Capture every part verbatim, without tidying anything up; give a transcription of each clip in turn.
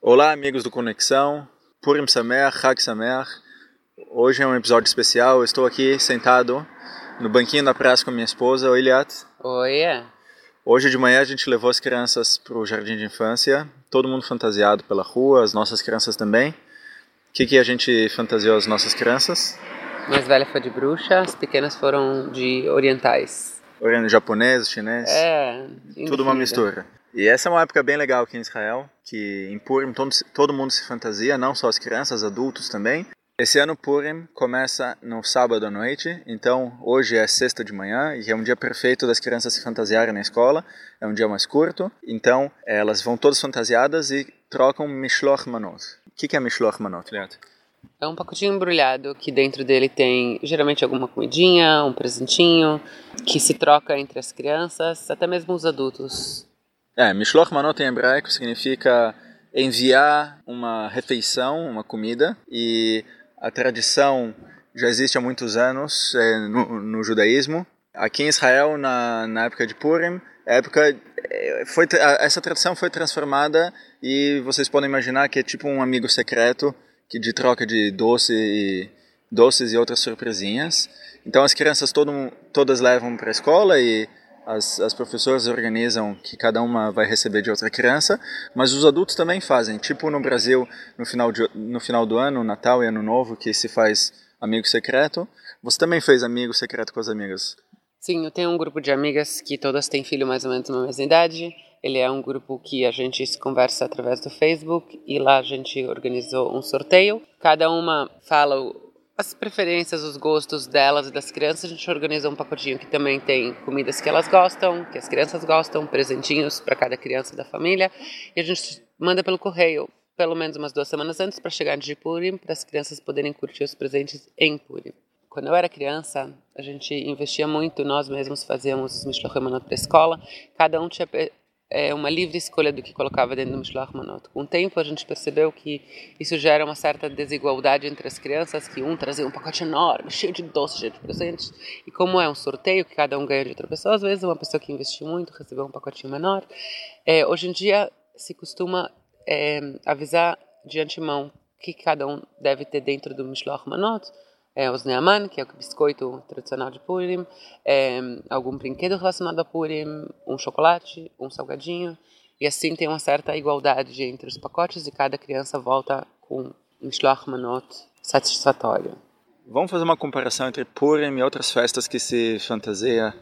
Olá, amigos do Conexão, Purim Sameach, Chag Sameach. Hoje é um episódio especial. Eu estou aqui sentado no banquinho da praça com a minha esposa. Oi, Liat. Oi. Hoje de manhã a gente levou as crianças para o jardim de infância. Todo mundo fantasiado pela rua, as nossas crianças também. O que, que a gente fantasiou as nossas crianças? A mais velha foi de bruxa, as pequenas foram de orientais. Oriental, japonês, chinês. É, tudo uma mistura. E essa é uma época bem legal aqui em Israel, que em Purim todo, todo mundo se fantasia, não só as crianças, adultos também. Esse ano Purim começa no sábado à noite, então hoje é sexta de manhã e é um dia perfeito das crianças se fantasiarem na escola, é um dia mais curto, então elas vão todas fantasiadas e trocam Mishloach Manot. O que é Mishloach Manot, Liat? É um pacotinho embrulhado que dentro dele tem geralmente alguma comidinha, um presentinho, que se troca entre as crianças, até mesmo os adultos. É, Mishloach Manot em hebraico significa enviar uma refeição, uma comida, e a tradição já existe há muitos anos é, no, no judaísmo. Aqui em Israel, na, na época de Purim, época, foi, essa tradição foi transformada e vocês podem imaginar que é tipo um amigo secreto que de troca de doce e, doces e outras surpresinhas. Então as crianças todo, todas levam para a escola e As, as professoras organizam que cada uma vai receber de outra criança, mas os adultos também fazem, tipo no Brasil, no final, de, no final do ano, Natal e Ano Novo, que se faz amigo secreto. Você também fez amigo secreto com as amigas? Sim, eu tenho um grupo de amigas que todas têm filho mais ou menos na mesma idade. Ele é um grupo que a gente se conversa através do Facebook e lá a gente organizou um sorteio. Cada uma fala o as preferências, os gostos delas e das crianças. A gente organiza um pacotinho que também tem comidas que elas gostam, que as crianças gostam, presentinhos para cada criança da família, e a gente manda pelo correio pelo menos umas duas semanas antes para chegar de Purim, para as crianças poderem curtir os presentes em Purim. Quando eu era criança, a gente investia muito, nós mesmos fazíamos os Mishloach Manot para a escola, cada um tinha é uma livre escolha do que colocava dentro do Mishloach Manot. Com o tempo a gente percebeu que isso gera uma certa desigualdade entre as crianças, que um trazia um pacote enorme, cheio de doces, cheio de presentes, e como é um sorteio que cada um ganha de outra pessoa, às vezes uma pessoa que investiu muito recebeu um pacotinho menor. É, hoje em dia se costuma é, avisar de antemão o que cada um deve ter dentro do Mishloach Manot. É, os Neaman, que é o biscoito tradicional de Purim, é, algum brinquedo relacionado a Purim, um chocolate, um salgadinho, e assim tem uma certa igualdade entre os pacotes e cada criança volta com um Mishloach Manot satisfatório. Vamos fazer uma comparação entre Purim e outras festas que se fantasia.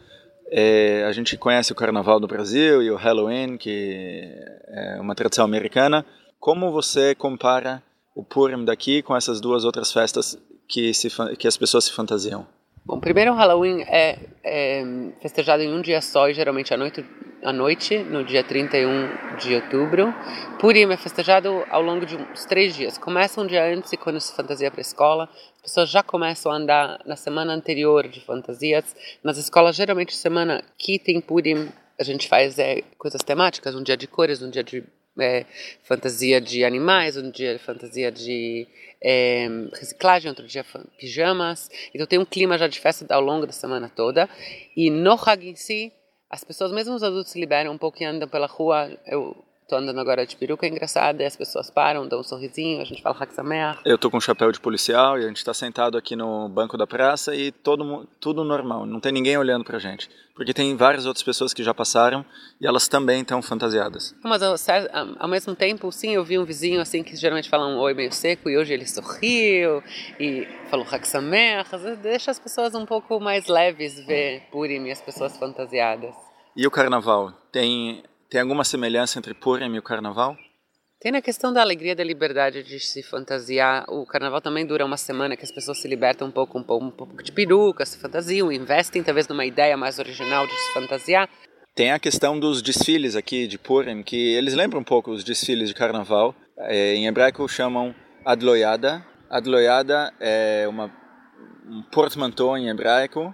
É, a gente conhece o Carnaval do Brasil e o Halloween, que é uma tradição americana. Como você compara o Purim daqui com essas duas outras festas que, se, que as pessoas se fantasiam? Bom, primeiro o Halloween é, é festejado em um dia só e geralmente à noite, à noite, no dia trinta e um de outubro. Purim é festejado ao longo de uns três dias. Começa um dia antes e quando se fantasia para a escola, as pessoas já começam a andar na semana anterior de fantasias. Nas escolas, geralmente, semana que tem Purim, a gente faz é, coisas temáticas, um dia de cores, um dia de É, fantasia de animais, um dia de fantasia de é, reciclagem, outro dia pijamas. Então tem um clima já de festa ao longo da semana toda. E no Hag em si, as pessoas, mesmo os adultos, se liberam um pouco e andam pela rua. Eu estou andando agora de peruca engraçada e as pessoas param, dão um sorrisinho, a gente fala Chag Sameach. Eu estou com um chapéu de policial e a gente está sentado aqui no banco da praça e todo, tudo normal, não tem ninguém olhando pra gente. Porque tem várias outras pessoas que já passaram e elas também estão fantasiadas. Mas ao, ao mesmo tempo, sim, eu vi um vizinho assim que geralmente fala um oi meio seco e hoje ele sorriu e falou Chag Sameach. Deixa as pessoas um pouco mais leves ver Purim e as pessoas fantasiadas. E o Carnaval? Tem, tem alguma semelhança entre Purim e o Carnaval? Tem na questão da alegria, da liberdade de se fantasiar. O Carnaval também dura uma semana que as pessoas se libertam um pouco, um pouco, um pouco de peruca, se fantasiam, investem talvez numa ideia mais original de se fantasiar. Tem a questão dos desfiles aqui de Purim, que eles lembram um pouco os desfiles de Carnaval. É, em hebraico chamam Adloyada. Adloyada é uma, um portmanteau em hebraico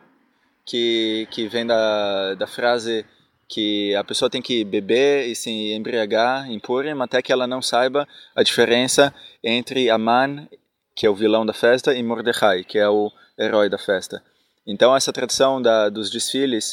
que, que vem da, da frase que a pessoa tem que beber e se embriagar em Purim até que ela não saiba a diferença entre Aman, que é o vilão da festa, e Mordechai, que é o herói da festa. Então essa tradição da, dos desfiles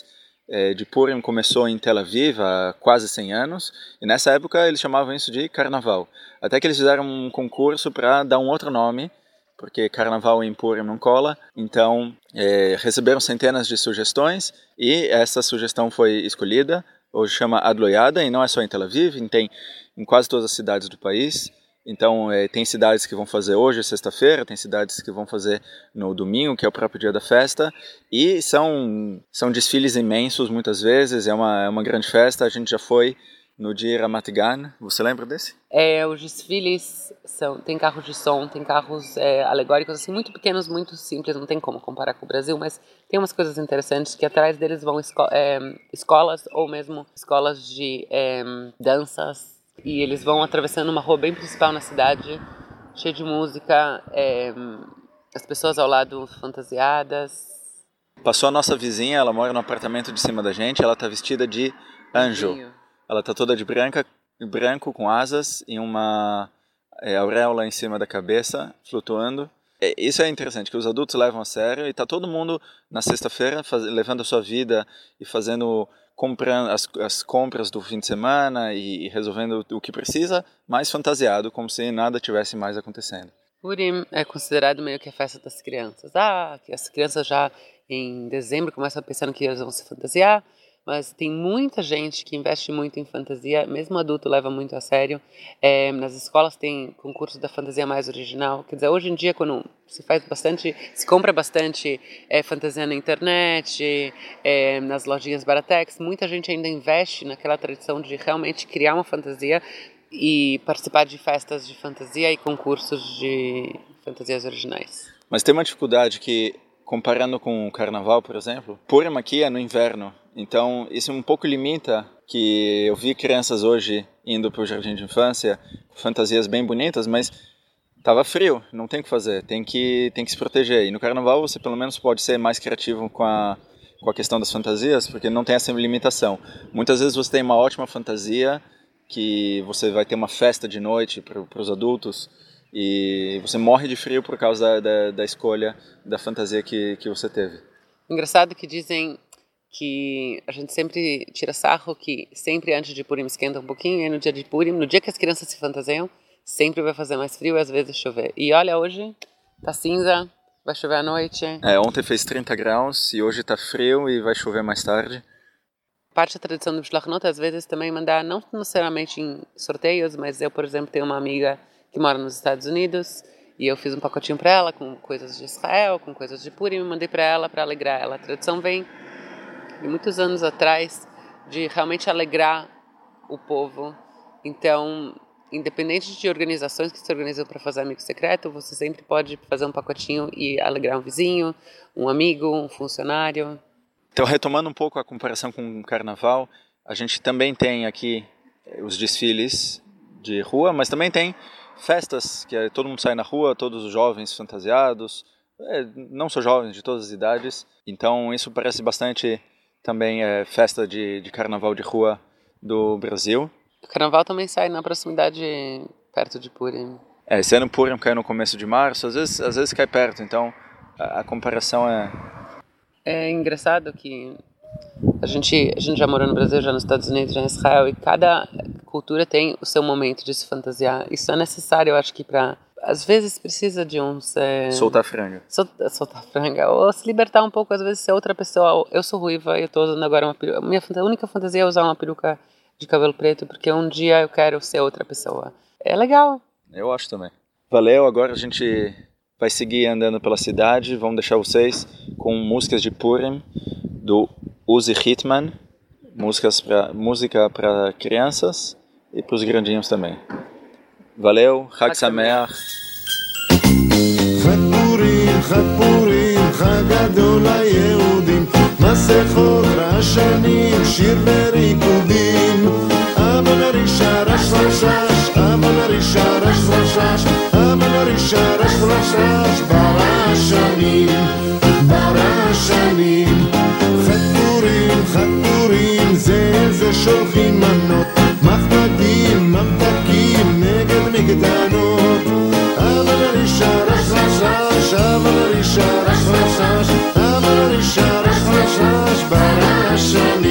de Purim começou em Tel Aviv há quase cem anos, e nessa época eles chamavam isso de carnaval. Até que eles fizeram um concurso para dar um outro nome, porque carnaval em Purim não cola, então é, receberam centenas de sugestões, e essa sugestão foi escolhida, hoje chama Adloyada, e não é só em Tel Aviv, tem em quase todas as cidades do país. Então, é, tem cidades que vão fazer hoje, sexta-feira, tem cidades que vão fazer no domingo, que é o próprio dia da festa, e são, são desfiles imensos muitas vezes, é uma, é uma grande festa. A gente já foi no dia Ramat Gan, você lembra desse? É, os desfiles, são, tem carros de som, tem carros é, alegóricos, assim, muito pequenos, muito simples, não tem como comparar com o Brasil, mas tem umas coisas interessantes, que atrás deles vão esco é, escolas, ou mesmo escolas de é, danças, e eles vão atravessando uma rua bem principal na cidade, cheia de música, é, as pessoas ao lado fantasiadas. Passou a nossa vizinha, ela mora no apartamento de cima da gente, ela está vestida de anjo. Ela está toda de branca, branco com asas e uma é, auréola em cima da cabeça, flutuando. É, isso é interessante, que os adultos levam a sério, e está todo mundo na sexta-feira levando a sua vida e fazendo... comprando as, as compras do fim de semana e, e resolvendo o que precisa, mais fantasiado, como se nada tivesse mais acontecendo. Purim é considerado meio que a festa das crianças. Ah, que as crianças já em dezembro começam a pensar que elas vão se fantasiar, mas tem muita gente que investe muito em fantasia, mesmo adulto leva muito a sério. É, nas escolas tem concurso da fantasia mais original. Quer dizer, hoje em dia, quando se faz bastante, se compra bastante é, fantasia na internet, é, nas lojinhas Baratex, muita gente ainda investe naquela tradição de realmente criar uma fantasia e participar de festas de fantasia e concursos de fantasias originais. Mas tem uma dificuldade que, comparando com o carnaval, por exemplo, Purim aqui é no inverno. Então, isso um pouco limita, que eu vi crianças hoje indo para o jardim de infância com fantasias bem bonitas, mas estava frio, não tem o que fazer, tem que, tem que se proteger. E no carnaval você pelo menos pode ser mais criativo com a, com a questão das fantasias, porque não tem essa limitação. Muitas vezes você tem uma ótima fantasia, que você vai ter uma festa de noite para os adultos, e você morre de frio por causa da, da, da escolha da fantasia que, que você teve. Engraçado que dizem que a gente sempre tira sarro, que sempre antes de Purim esquenta um pouquinho, e no dia de Purim, no dia que as crianças se fantasiam, sempre vai fazer mais frio e às vezes chover. E olha, hoje tá cinza, vai chover à noite. É, ontem fez trinta graus e hoje tá frio e vai chover mais tarde. Parte da tradição do Shlach Not, às vezes, também mandar, não necessariamente em sorteios, mas eu, por exemplo, tenho uma amiga que mora nos Estados Unidos, e eu fiz um pacotinho para ela com coisas de Israel, com coisas de Purim, e mandei para ela para alegrar ela. A tradição vem de muitos anos atrás de realmente alegrar o povo. Então, independente de organizações que se organizam para fazer amigo secreto, você sempre pode fazer um pacotinho e alegrar um vizinho, um amigo, um funcionário. Então, retomando um pouco a comparação com o carnaval, a gente também tem aqui os desfiles de rua, mas também tem festas, que é, todo mundo sai na rua, todos os jovens fantasiados, é, não só jovens, de todas as idades. Então, isso parece bastante também é, festa de, de carnaval de rua do Brasil. O carnaval também sai na proximidade, perto de Purim. É, esse ano Purim cai no começo de março, às vezes, às vezes cai perto, então a, a comparação é... É engraçado que a gente, a gente já morou no Brasil, já nos Estados Unidos, já em Israel, e cada cultura tem o seu momento de se fantasiar. Isso é necessário, eu acho que para... Às vezes precisa de uns... É, soltar franga. Sol, soltar franga, ou se libertar um pouco, às vezes ser outra pessoa. Eu sou ruiva e eu estou usando agora uma peruca. Minha a única fantasia é usar uma peruca de cabelo preto, porque um dia eu quero ser outra pessoa. É legal. Eu acho também. Valeu, agora a gente vai seguir andando pela cidade. Vamos deixar vocês com músicas de Purim, do Uzi Hitman. Músicas pra, música para crianças e para os grandinhos também. Valeu, Chag Sameach. חג פורים, חג פורים, חג גדול ליהודים, מסכות רעשנים, שיר וריקודים. אבל הרישה רש רשש, אבל הרישה רש רשש, אבל הרישה רש רשש, ברעשנים, ברעשנים. חג פורים, חג פורים, זה זה שולחים מנות, מחמדים, ממתקים, נגד נגדנות. אבל הרישה רש רשש, אבל הרישה רש רשש, אבל הרישה רש רשש, ברעשנים.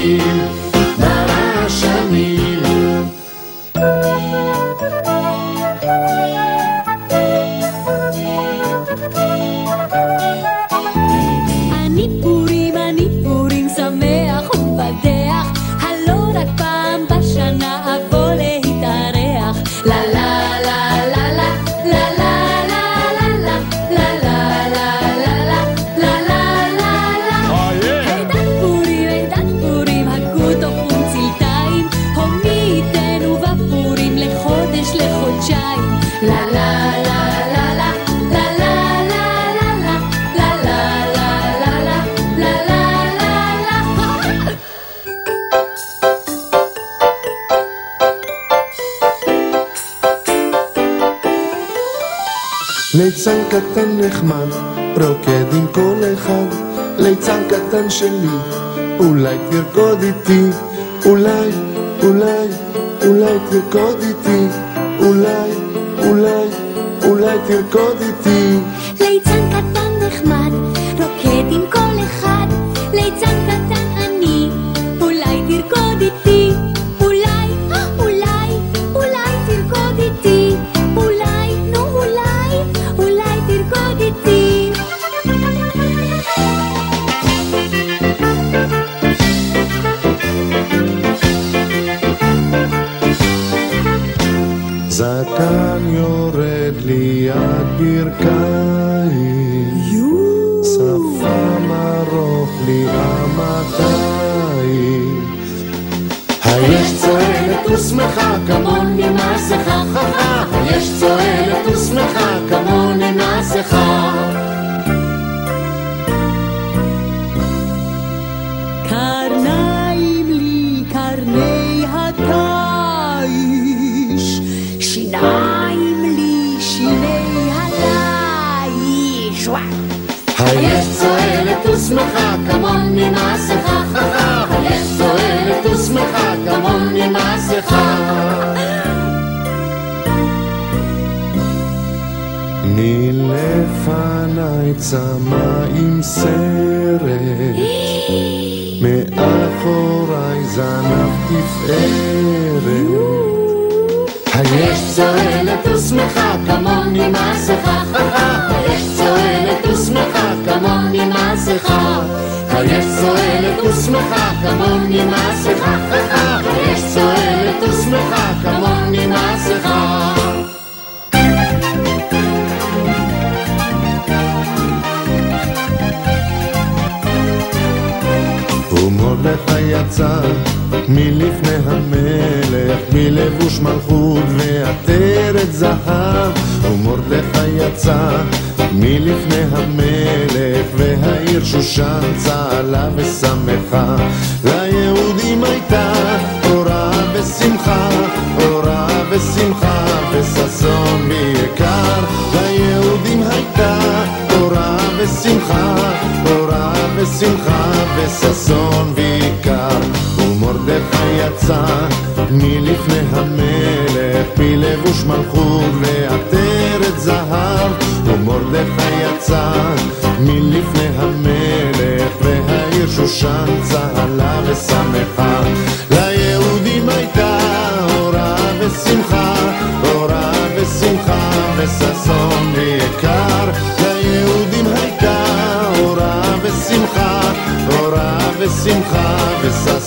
ליצן קטן נחמד, רוקד עם כל אחד, ליצן קטן שלי, אולי תרקוד איתי, אולי, אולי, אולי תרקוד איתי, אולי, אולי, אולי תרקוד איתי. ליצן קטן נחמד, רוקד עם כל אחד, ליצן קטן אני, אולי תרקוד איתי, אולי, אולי, אולי תרקוד איתי, אולי, נו אולי, אולי תרקוד איתי. זקן יורד לי עד ברכיים, שפם ארוך לי המתיים. היש צועלת ושמחה כמוני מסכה, היש צועלת ושמחה כמוני מסכה. קרניים לי קרני התיש, שיניים לי שיני הליש. היש צועלת ושמחה כמוני מסכה, היש צועלת ושמחה כמוני מסכה. מלפניי צמא עם סרט, מאחוריי זנב תפארת. היש צועלת ושמחה כמוני מסכה, היש צועלת ושמחה כמוני מסכה, היש צועלת ושמחה כמוני מסכה, היש צועלת ושמחה כמוני מסכה. ומרדכי יצא מלפני המלך, מלבוש מלכות ועטרת זהב. ומרדכי יצא מלפני המלך, והעיר שושן צהלה ושמחה. ליהודים הייתה אורה ושמחה, אורה ושמחה וששון ויקר. ליהודים הייתה אורה ושמחה, אורה ושמחה וששון ויקר. ומרדכי יצא מלפני המלך, מלבוש מלכות ועטרת זהב. ומרדכי יצא מלפני המלך, והעיר שושן צהלה ושמחה. ליהודים הייתה אורה ושמחה, אורה ושמחה וששון ויקר. ליהודים הייתה אורה ושמחה, אורה ושמחה וששון